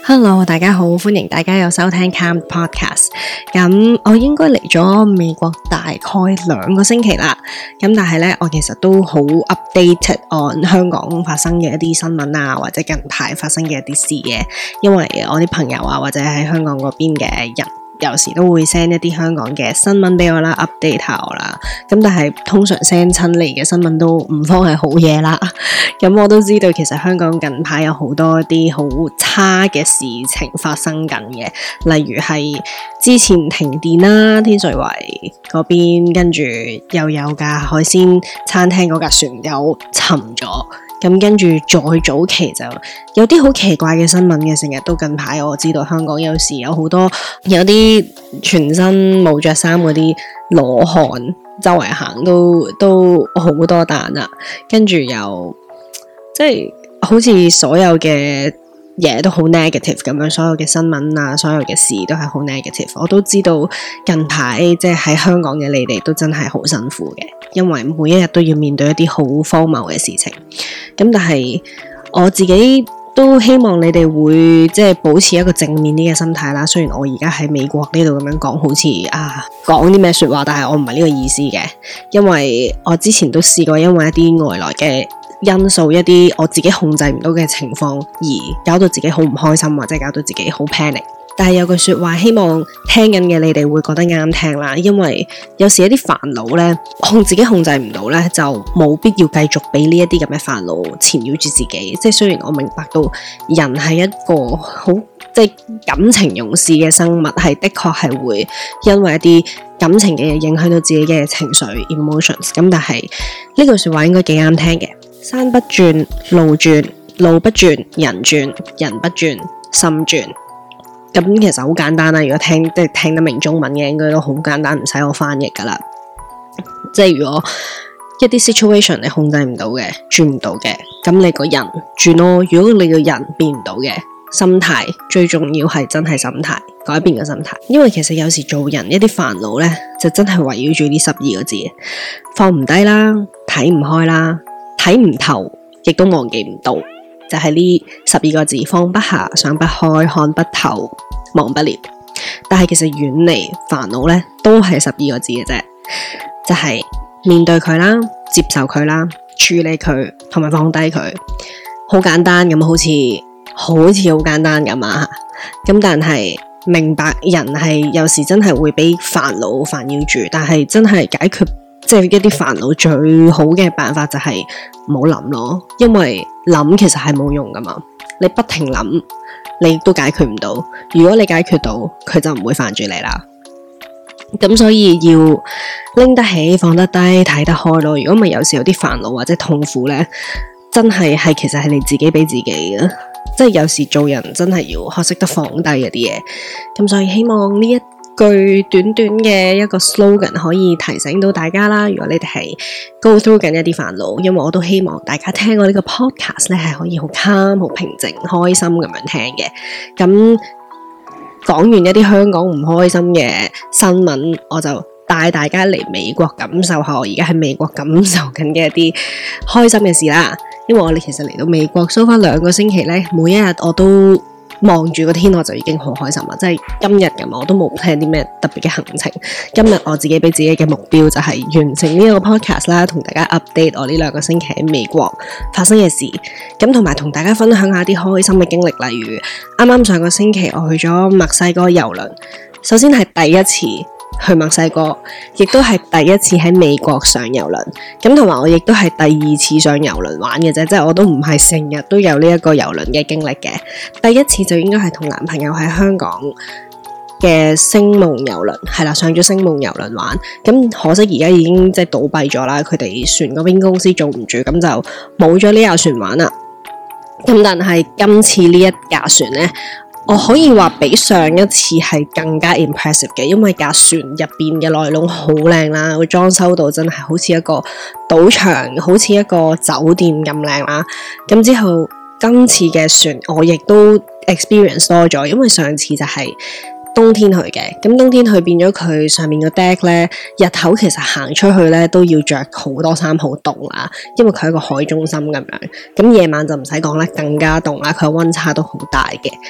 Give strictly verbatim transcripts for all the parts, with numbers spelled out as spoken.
Hello， 大家好，歡迎大家有收聽 Calm Podcast。咁我應該嚟咗美國大概兩個星期啦。咁但係咧，我其實都好 updated on 香港發生嘅一啲新聞啊，或者近排發生嘅一啲事嘅。因為我啲朋友啊，或者喺香港嗰邊嘅人，有時都會 send 一啲香港嘅新聞俾我啦 ，update 下我啦。咁但係通常 send 親嚟嘅新聞都唔方係好嘢啦。咁我都知道，其實香港近排有好多一啲好差嘅事情發生緊嘅，例如係之前停電啦，天水圍嗰邊，跟住又有架海鮮餐廳嗰架船又沉咗。咁跟住再早期就有啲好奇怪嘅新聞嘅，成日都近排我知道香港有時有好多有啲全身冇着衫嗰啲裸漢周圍行都都好多單啊，跟住又即係好似所有嘅嘢都好 negative 咁樣，所有嘅新聞啊，所有嘅事都係好 negative。我都知道近排即係喺香港嘅你哋都真係好辛苦嘅，因為每一日都要面對一啲好荒謬嘅事情。咁但係我自己都希望你哋會即係保持一個正面啲嘅心態啦。雖然我而家喺美國呢度咁樣講，好似啊講啲咩說話，但係我唔係呢個意思嘅，因為我之前都試過因為一啲外來嘅因素，一啲我自己控制唔到嘅情況，而搞到自己好唔開心，或者搞到自己好 panic。但係有句說話，希望聽緊嘅你哋會覺得啱聽啦，因為有時一啲煩惱咧，控自己控制唔到咧，就冇必要繼續俾呢一啲咁嘅煩惱纏繞住自己。即係雖然我明白到人係一個好即係感情用事嘅生物，係的確係會因為一啲感情嘅嘢影響到自己嘅情緒 emotions。咁但係呢句說話應該幾啱聽嘅。山不轉路轉，路不轉人轉，人不轉心轉。咁其實好簡單啦，如果聽即係聽得明中文嘅，應該都好簡單，唔使我翻譯噶啦。即係如果一啲 situation 你控制唔到嘅，轉唔到嘅，咁你個人轉咯。如果你個人變唔到嘅，心態最重要係真係心態，改變個心態。因為其實有時做人一啲煩惱咧，就真係圍繞住呢十二個字，放唔低啦，睇唔開啦，睇唔透，亦都忘記唔到。就係呢十二個字，放不下，想不開，看不透，忘不了。但係其實遠離煩惱咧，都係十二個字嘅啫，就係面對佢啦，接受佢啦，處理佢，同埋放低佢。好簡單咁，好似好似好簡單咁啊！咁但係明白人係有時真係會俾煩惱煩擾住，但係真係解決即係一啲煩惱最好嘅辦法就係唔好諗咯，因為諗其實係冇用噶嘛，你不停諗你都解決唔到，如果你解決到佢就唔會煩住你啦。咁所以要拎得起放得低睇得開咯，如果咪有時有啲煩惱或者痛苦咧，真係係其實係你自己俾自己嘅，即係有時做人真係要學識得放低嗰啲嘢。咁所以希望呢一句短短嘅一個 slogan 可以提醒到大家啦。如果你哋係 go through 緊一啲煩惱，因為我都希望大家聽我呢個 podcast 咧係可以好 calm、好平靜、開心咁樣聽嘅。咁講完一啲香港唔開心嘅新聞，我就帶大家嚟美國感受下我而家喺美國感受緊嘅一啲開心嘅事啦。因為我哋其實嚟到美國 so 翻兩個星期咧，每一日我都望住個天我就已經好開心啦，即係今日咁我都冇 plan 啲咩特別嘅行程。今日我自己俾自己嘅目標就係完成呢一個 podcast 啦，同大家 update 我呢兩個星期喺美國發生嘅事，咁同埋同大家分享下啲開心嘅經歷，例如啱啱上個星期我去咗墨西哥郵輪，首先係第一次去墨西哥，亦都係第一次喺美國上郵輪，咁同埋我亦都係第二次上郵輪玩嘅啫，即係我都唔係成日都有呢一個郵輪嘅經歷嘅。第一次就應該係同男朋友喺香港嘅星夢郵輪，係啦，上咗星夢郵輪玩，咁可惜而家已經即係倒閉咗啦，佢哋船嗰邊公司做唔住，咁就冇咗呢架船玩啦。咁但係今次呢一架船呢，我可以話比上一次係更加 impressive 嘅，因為架船入邊嘅內籠好靚啦，佢裝修到真係好似一個賭場，好似一個酒店咁靚啦。咁之後今次嘅船我亦都 experience 多咗，因為上次就係冬天去嘅，咁冬天去變咗佢上面個 deck 咧，日頭其實行出去咧都要着好多衫，好凍啦，因為佢係一個海中心咁樣。咁夜晚就唔使講啦，更加凍啦，佢溫差都好大嘅。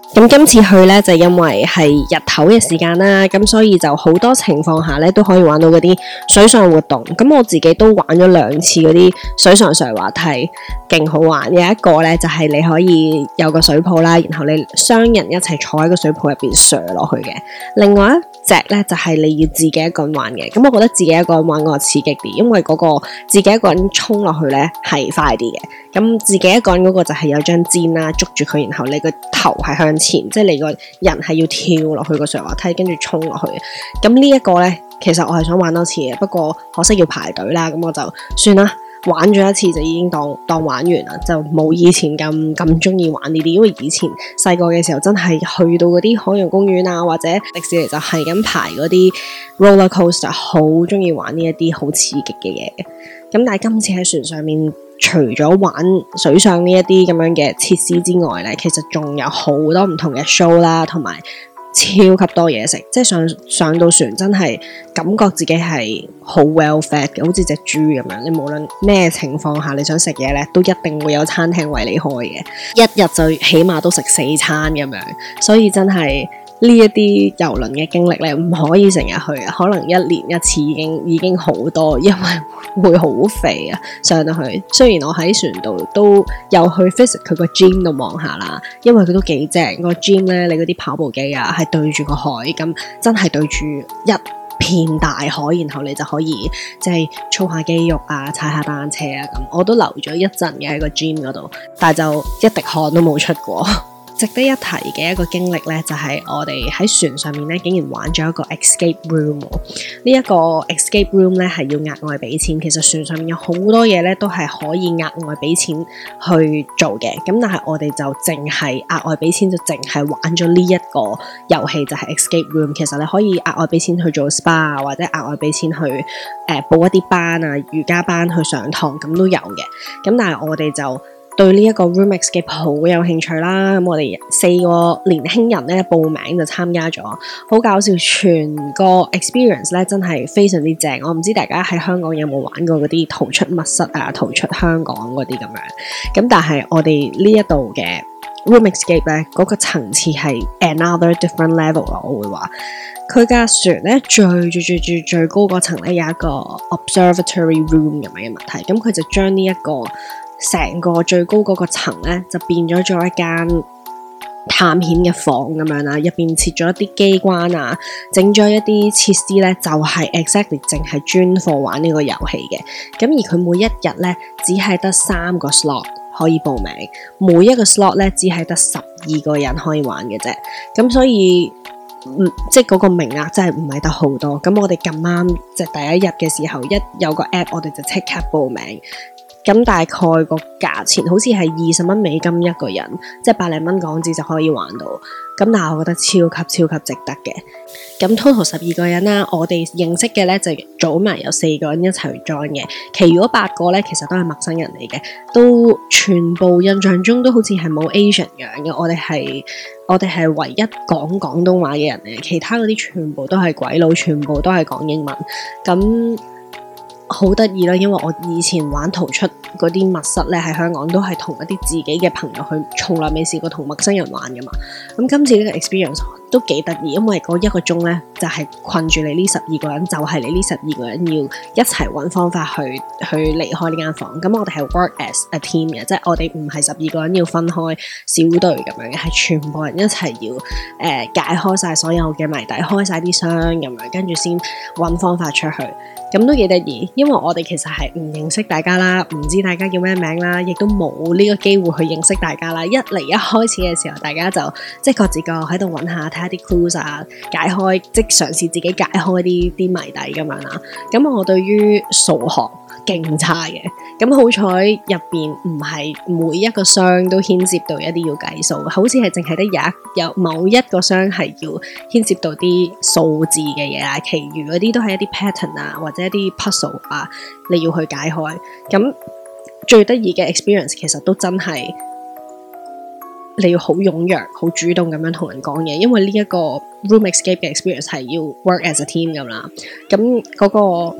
咁今次去咧就因為係日頭嘅時間啦，咁所以就好多情況下咧都可以玩到嗰啲水上活動。咁我自己都玩咗兩次嗰啲水上滑滑梯，勁好玩。有一個咧就係你可以有個水泡啦，然後你雙人一齊坐喺個水泡入邊上落去嘅。另外一隻咧就係你要自己一個人玩嘅。咁我覺得自己一個人玩嗰個刺激啲，因為嗰個自己一個人衝落去咧係快啲嘅。咁自己一個人嗰個就係有張氈啦，捉住佢，然後你個頭係向前，即係你個人係要跳落去個上滑梯，跟住衝落去。咁呢一個呢，其實我係想玩多次嘅，不過可惜要排隊啦，咁我就算啦，玩咗一次就已經當當玩完啦，就冇以前咁咁中意玩呢啲。因為以前細個嘅時候真係去到嗰啲海洋公園啊，或者迪士尼就係咁排嗰啲 roller coaster， 好中意玩呢一啲好刺激嘅嘢。咁但係今次喺船上面，除咗玩水上呢一啲咁樣嘅設施之外咧，其實仲有好多唔同嘅 show 啦，同埋超級多嘢食。即係上上到船真係感覺自己係好 well fed 嘅，好似隻豬咁樣。你無論咩情況下你想食嘢咧，都一定會有餐廳為你開嘅，一日就起碼都食四餐咁樣。所以真係呢一啲遊輪嘅經歷咧，唔可以成日去，可能一年一次已經已經好多，因為會好肥啊。上到去，雖然我喺船度都有去 visit 佢個 gym 度望下啦，因為佢都幾正。個 gym 咧，你嗰啲跑步機啊，係對住個海，咁真係對住一片大海，然後你就可以即係操下肌肉啊，踩下單車啊咁。我都留咗一陣嘅喺個 gym 嗰度，但係就一滴汗都冇出過。值得一提嘅一個經歷咧，就係我哋喺船上面咧，竟然玩咗一個 escape room。呢一個 escape room 咧係要額外俾錢。其實船上面有好多嘢咧都係可以額外俾錢去做嘅。咁但係我哋就淨係額外俾錢，就淨係玩咗呢一個遊戲，就係 escape room。其實你可以額外俾錢去做 spa， 或者額外俾錢去誒、呃、報一啲班啊，瑜伽班去上堂，咁都有嘅。咁但係我哋就對呢一個 room escape 好有興趣啦，咁我哋四個年輕人咧報名就參加咗，好搞笑，全個 experience 咧真係非常之正。我唔知大家喺香港有冇玩過嗰啲逃出密室啊、逃出香港嗰啲咁樣，咁但係我哋呢一度嘅 room escape 咧嗰個層次係 another different level 咯，我會話。佢架船咧最最最最最高嗰層咧有一個 observatory room 咁樣嘅問題，咁佢就將呢一個成個最高嗰個層咧，就變咗做一間探險嘅房咁樣啦，入邊設咗一啲機關啊，整咗一啲設施咧，就係、是、exactly 淨係專貨玩呢個遊戲嘅。咁而佢每一日咧，只係得三個 slot 可以報名，每一個 slot 咧只係得十二個人可以玩嘅啫。咁所以，嗯，即係嗰個名額真係唔係得好多。咁我哋咁啱即係第一日嘅時候，一有個 app， 我哋就即刻報名。咁大概個價錢好似係二十蚊美金一個人，即係百零蚊港紙就可以玩到。咁但係我覺得超級超級值得嘅。咁 total 十二個人啦，我哋認識嘅咧就組埋有四個人一齊去 join 嘅，其餘嗰八個咧其實都係陌生人嚟嘅，都全部印象中都好似係冇 Asian 樣嘅。我哋係我哋係唯一講廣東話嘅人嚟，其他嗰啲全部都係鬼佬，全部都係講英文。咁好得意啦，因為我以前玩逃出嗰啲密室咧，喺香港都係同一啲自己嘅朋友去，從來未試過同陌生人玩噶嘛。咁今次呢個 experience 都幾得意，因為嗰一個鐘咧就係、是、困住你呢十二個人，就係、是、你呢十二個人要一齊揾方法去去離開呢間房。咁我哋係 work as a team 嘅，即係我哋唔係十二個人要分開小隊咁樣嘅，係全部人一齊要誒、呃、解開晒所有嘅謎底，開晒啲箱咁樣，跟住先揾方法出去。咁都幾得意，因為我哋其實係唔認識大家啦，唔知大家叫咩名啦，亦都冇呢個機會去認識大家啦。一嚟一開始嘅時候，大家就即係各自各喺度揾下，睇下啲 clues 啊，解開即係嘗試自己解開啲啲謎底咁樣啦。咁我對於數學勁差嘅，咁好彩入邊唔係每一個箱都牽涉到一啲要計數，好似係淨係得有一有某一個箱係要牽涉到啲數字嘅嘢啦，其餘嗰啲都係一啲 pattern 啊，或者一啲 puzzle 啊，你要去解開。咁最得意嘅 experience 其實都真係你要好踴躍、好主動咁樣同人講嘢，因為呢一個 room escape 嘅 experience 係要 work as a team 咁啦。咁嗰個誒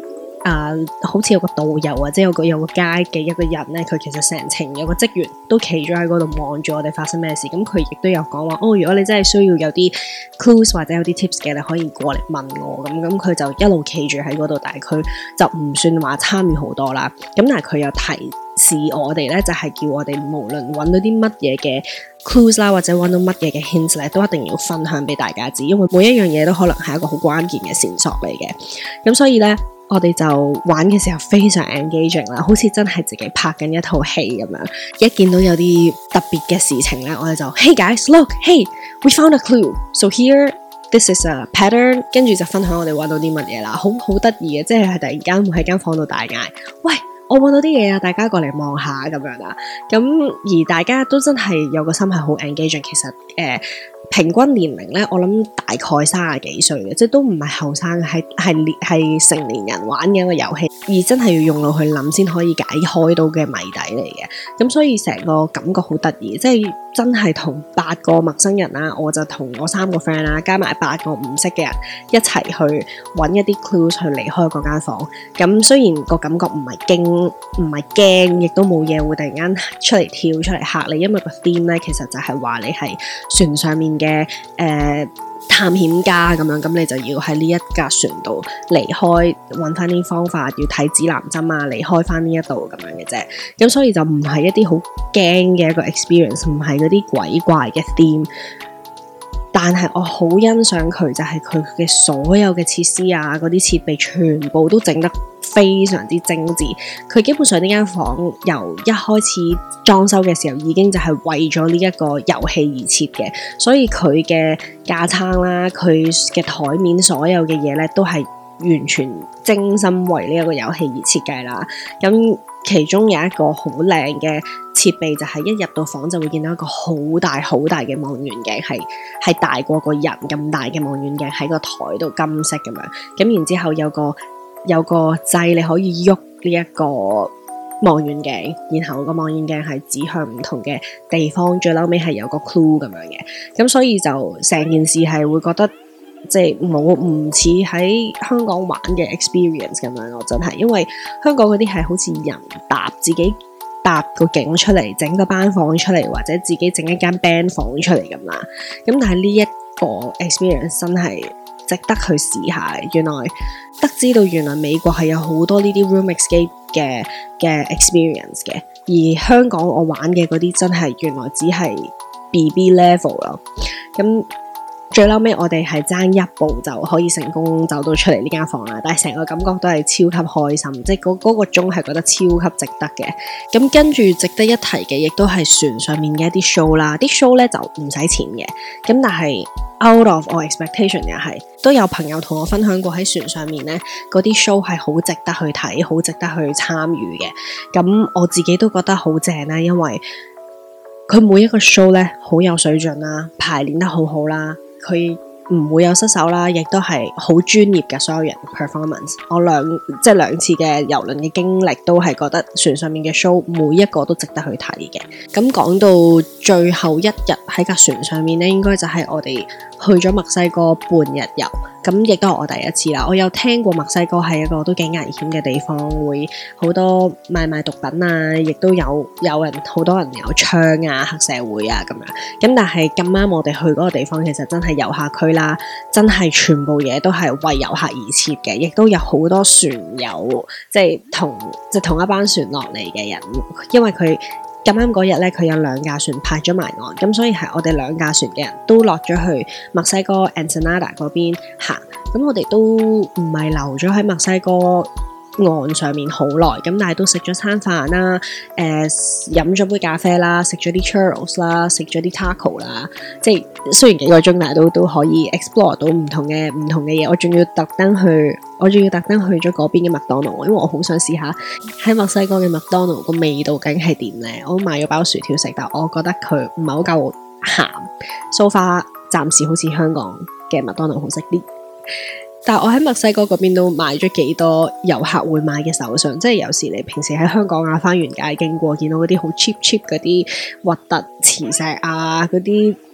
啊、呃，好似有個導遊或者有個有個街嘅一個人咧，佢其實成程有個職員都企咗喺嗰度望住我哋發生咩事。咁佢亦都有講話，哦，如果你真係需要有啲 clues 或者有啲 tips 嘅，你可以過嚟問我。咁咁佢就一路企住喺嗰度，但係佢就唔算話參與好多啦。咁但係佢有提示我哋咧，就係、是、叫我哋無論揾到啲乜嘢嘅 clues 啦，或者揾到乜嘢嘅 hints 咧，都一定要分享俾大家知，因為每一樣嘢都可能係一個好關鍵嘅線索嚟嘅。咁所以咧，我哋就玩嘅時候非常 engaging 啦，好似真係自己拍緊一套戲咁樣。一見到有啲特別嘅事情咧，我哋就 Hey guys, look, hey, we found a clue. So here, this is a pattern. 跟住就分享我哋揾到啲乜嘢啦，好好得意嘅，即係突然間會喺間房度大嗌，喂！我揾到啲嘢啊，大家過嚟望下咁樣啦。咁而大家都真係有個心係好 engaging。其實誒、呃、平均年齡咧，我諗大概三十幾歲嘅，即係都唔係後生，係係係成年人玩嘅一個遊戲，而真係要用腦去諗先可以解開到嘅謎底嚟嘅。咁所以成個感覺好得意，即係真係同八個陌生人啦，我就同我三個 friend 啦，加埋八個唔識嘅人一齊去揾一啲 clues 去離開嗰間房。咁雖然個感覺唔係驚。唔係驚，亦都冇嘢會突然間出嚟跳出嚟嚇你，因為個 theme 咧其實就係話你係船上面嘅誒、呃、探險家咁樣，咁你就要喺呢一架船度離開，揾翻啲方法，要睇指南針啊，離開翻呢一度咁樣嘅啫。咁所以就唔係一啲好驚嘅一個 experience， 唔係嗰啲鬼怪嘅 theme。但係我好欣賞佢，就係佢嘅所有嘅設施啊，嗰啲設備全部都整得非常之精緻。佢基本上呢間房由一開始裝修嘅時候已經就係為咗呢一個遊戲而設嘅，所以佢嘅架撐啦，佢嘅台面所有嘅嘢咧都係完全精心為呢一個遊戲而設計啦。咁其中有一個好靚嘅設備，就係一入到房就會見到一個好大好大嘅望遠鏡，係係大過個人咁大嘅望遠鏡喺個台度，金色咁樣。咁然之後有個有個掣你可以喐呢一個望遠鏡，然後個望遠鏡係指向唔同嘅地方，最後尾係有個 clue 咁樣嘅。咁所以就成件事係會覺得即係冇唔似喺香港玩嘅 experience 咁樣咯，真係，因為香港嗰啲係好似人搭自己搭個景出嚟，整個班房出嚟，或者自己整一間 band 房出嚟咁啦。咁但係呢一個 experience 真係值得去試下。原來得知到原來美國係有好多呢啲 room escape 嘅嘅 experience 嘅，而香港我玩嘅嗰啲真係原來只係 B B level 咯。咁最後尾我哋係爭一步就可以成功走到出嚟呢間房啦，但係成個感覺都係超級開心，即係嗰嗰個鐘係覺得超級值得嘅。咁跟住值得一提嘅，亦都係船上面嘅一啲 show 啦，啲 show 咧就唔使錢嘅，咁但係 out of our expectation 又係，都有朋友同我分享過喺船上面咧，嗰啲 show 係好值得去睇，好值得去參與嘅。咁我自己都覺得好正啦，因為佢每一個 show 咧好有水準啦，排練得好好啦。佢唔會有失手啦，亦都係好專業嘅所有人 performance。我兩即係兩次嘅遊輪嘅經歷都係覺得船上面嘅 show 每一個都值得去睇嘅。咁講到最後一日喺架船上面咧，應該就係我哋去咗墨西哥半日遊。咁亦都係我第一次啦。我有聽過墨西哥係一個都幾危險嘅地方，會好多賣賣毒品啊，亦都有有人好多人有槍啊、黑社會啊咁樣。咁但係咁啱我哋去嗰個地方，其實真係遊客區啦，真係全部嘢都係為遊客而設嘅，亦都有好多船友，即係同即係同一班船落嚟嘅人，因為佢。咁啱嗰日咧，佢有兩架船泊咗埋岸，咁所以係我哋兩架船嘅人都落咗去墨西哥 Ensenada 嗰邊行，咁我哋都唔係留咗喺墨西哥岸上面好耐，咁但係都食咗餐飯啦，誒飲咗杯咖啡啦，食咗啲 churros 啦，食咗啲 taco 啦，即係雖然幾個鐘，但係都都可以 explore 到唔同嘅唔同嘅嘢。我仲要特登去，我仲要特登去咗嗰邊嘅麥當勞，因為我好想試下喺墨西哥嘅麥當勞個味道究竟係點咧。我買咗包薯條食，但我覺得佢唔係好夠鹹。So far 暫時好似香港嘅麥當勞好食啲。但係我喺墨西哥嗰邊都買咗幾多遊客會買嘅手信，即係有時你平時喺香港啊花園街經過，見到嗰啲好 cheap cheap 嗰啲核突磁石啊，嗰啲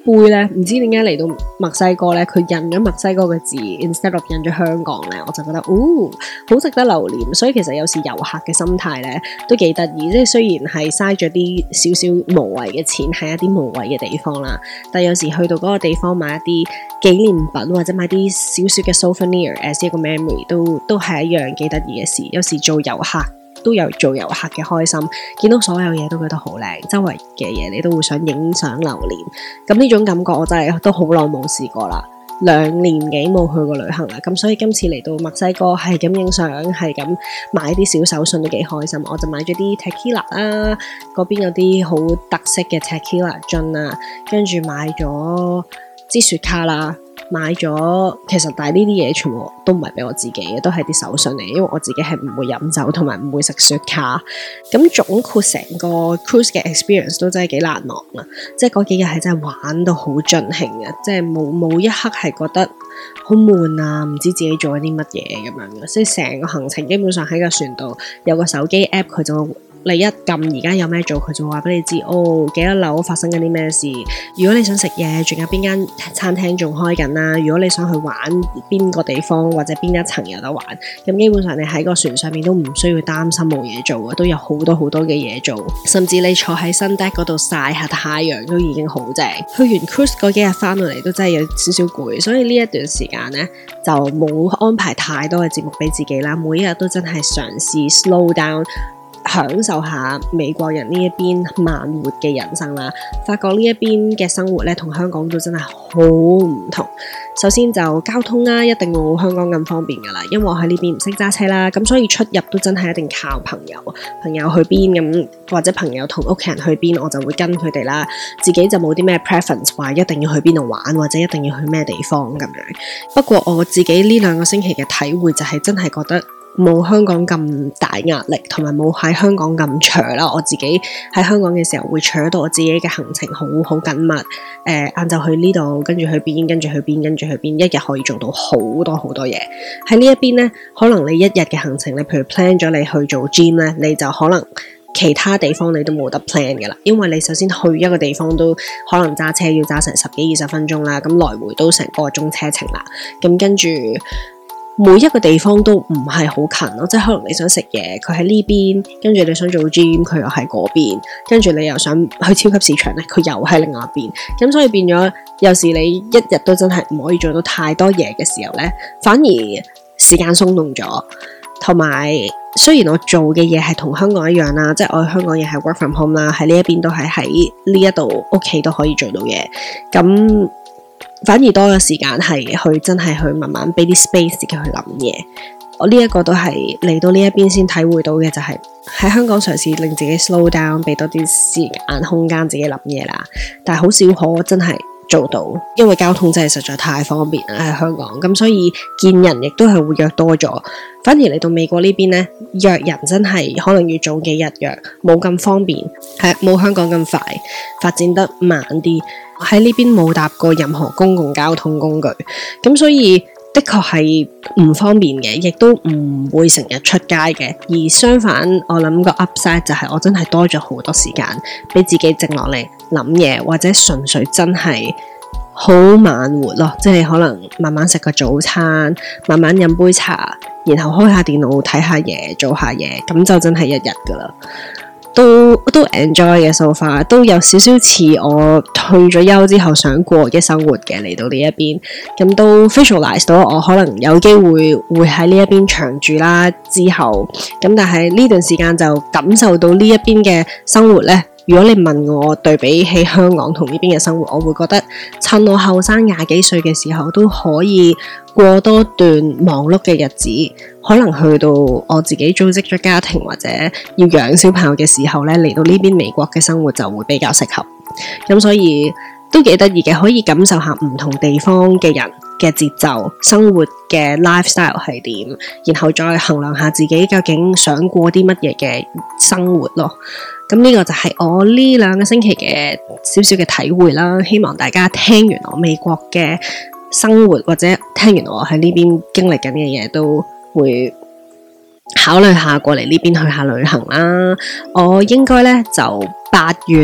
杯咧，唔知點解嚟到墨西哥咧，佢印咗墨西哥嘅字 instead of 印咗香港咧，我就覺得哦，好值得留念。所以其實有時遊客嘅心態咧都幾得意，即係雖然係嘥咗啲少少無謂嘅錢喺一啲無謂嘅地方啦，但有時去到嗰個地方買一啲紀念品或者買啲少少嘅 souvenir as 一個 memory 都都係一樣幾得意嘅事。有時做遊客都有做遊客嘅開心，見到所有嘢都覺得好靚，周圍嘅嘢你都會想影相留念。咁呢種感覺我真係都好耐冇試過啦，兩年幾冇去過旅行啦。咁所以今次嚟到墨西哥係咁影相，係咁買啲小手信都幾開心。我就買咗啲 tequila 啦，嗰邊有啲好特色嘅 tequila 樽啊，跟住買咗支雪茄啦。買咗，其實但係呢啲嘢全部都唔係俾我自己嘅，都係啲手信嚟，因為我自己係唔會飲酒同埋唔會食雪茄。咁總括成個 cruise 嘅 experience 都真係幾難忘啊！即係嗰幾日係真係玩到好盡興嘅，即係冇冇一刻係覺得好悶啊，唔知自己做咗啲乜嘢咁樣嘅。即係成個行程基本上喺個船度有個手機 app，佢就你一撳而家有咩做，佢就話俾你知哦，幾多樓發生緊啲咩事。如果你想食嘢，仲有邊間餐廳仲開緊啦。如果你想去玩邊個地方或者邊一層有得玩，咁基本上你喺個船上面都唔需要擔心冇嘢做嘅，都有好多好多嘅嘢做。甚至你坐喺新 deck 嗰度曬下太陽都已經好正。去完 cruise 嗰幾日翻到嚟都真係有少少攰，所以呢一段時間呢，就冇安排太多嘅節目俾自己啦。每一日都真係嘗試 slow down，享受下美國人呢一邊慢活嘅人生啦，發覺呢一邊嘅生活咧同香港都真係好唔同。首先就交通啦，一定冇香港咁方便噶啦，因為我喺呢邊唔識揸車啦，咁所以出入都真係一定靠朋友，朋友去邊咁或者朋友同屋企人去邊，我就會跟佢哋啦。自己就冇啲咩 preference 話一定要去邊度玩或者一定要去咩地方咁樣。不過我自己呢兩個星期嘅體會就係真係覺得冇香港咁大壓力，同埋冇喺香港咁長啦。我自己喺香港嘅時候會搶到我自己嘅行程好好緊密，誒晏晝去呢度，跟住去邊，跟住去邊，跟住去邊，一日可以做到好多好多嘢。喺呢一邊呢，可能你一日嘅行程，你譬如 plan 咗你去做 gym 呢，你就可能其他地方你都冇得 plan 㗎啦，因為你首先去一個地方都可能揸車要揸成十幾二十分鐘啦，咁來回都成個鐘車程啦，咁跟住每一個地方都唔係好近咯，即係可能你想食嘢，佢喺呢邊，跟住你想做 gym，佢又喺嗰邊，跟住你又想去超級市場咧，佢又喺另外一邊，咁所以變咗有時你一日都真係唔可以做到太多嘢嘅時候咧，反而時間鬆動咗，同埋雖然我做嘅嘢係同香港一樣啦，即係我喺香港亦係 work from home 啦，喺呢一邊都係喺呢一度屋企都可以做到嘢，咁反而多咗時間係去真係去慢慢俾啲 space 自己去諗嘢。我呢一個都係嚟到呢一邊先體會到嘅，就係喺香港嘗試令自己 slow down，俾多啲時間空間自己諗嘢啦。但係好少可真係做到，因為交通真係實在太方便啦喺香港，咁所以見人亦都係會約多咗。反而嚟到美國呢邊呢，約人真係可能要早幾日約，冇咁方便，係冇香港咁快，發展得慢啲。喺呢邊冇搭過任何公共交通工具，咁所以的確係唔方便嘅，亦都唔會成日出街嘅。而相反，我諗個 upside 就係我真係多咗好多時間俾自己靜落嚟諗嘢，或者純粹真係好慢活咯，即係可能慢慢食個早餐，慢慢飲杯茶，然後開下電腦睇下嘢，做下嘢，咁就真係一日噶啦。都都 enjoy 嘅 so far，都有少少似我退咗休之後想過嘅生活嘅，嚟到呢一邊，咁都 visualize 到我可能有機會會喺呢一邊長住啦。之後咁但係呢段時間就感受到呢一邊嘅生活呢。如果你問我對比起香港同呢邊嘅生活，我會覺得趁我後生廿幾歲嘅時候都可以過多段忙碌嘅日子，可能去到我自己組織咗家庭或者要養小朋友嘅時候咧，嚟到呢邊美國嘅生活就會比較適合。咁所以都幾得意嘅，可以感受下唔同地方嘅人嘅節奏、生活嘅 lifestyle 係點，然後再衡量下自己究竟想過啲乜嘢嘅生活咯。咁呢個就係我呢兩個星期嘅少少嘅體會啦。希望大家聽完我美國嘅生活或者聽完我喺呢邊經歷緊嘅嘢，都會考慮下過嚟呢邊去下旅行啦。我應該呢就八月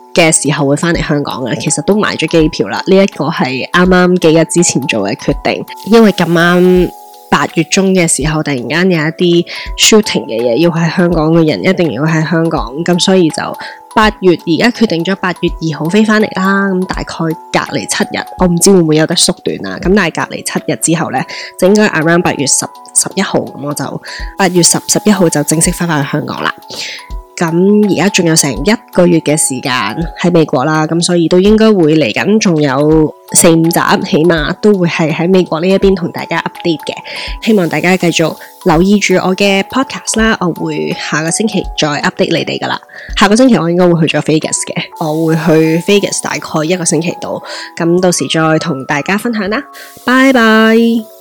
嘅時候會翻嚟香港嘅，其實都買咗機票啦。呢一個係啱啱幾日之前做嘅決定，因為咁啱八月中嘅時候，突然間有一啲 shooting 嘅嘢，要喺香港嘅人一定要喺香港，咁所以就八月而家決定咗八月二號飛翻嚟啦。咁大概隔離七日，我唔知會唔會有得縮短啦。咁但係隔離七日之後呢，就應該 around 八月十十一號，咁我就八月十十一號就正式翻返去香港啦。咁而家仲有成一個月嘅時間喺美國啦，咁所以都應該會嚟緊，仲有四五集，起碼都會係喺美國呢一邊同大家 update 嘅。希望大家繼續留意住我嘅 podcast 啦，我會下個星期再 update 你哋噶啦。下個星期我應該會去咗 Vegas 嘅，我會去 Vegas 大概一個星期度，咁到時再同大家分享啦。拜拜。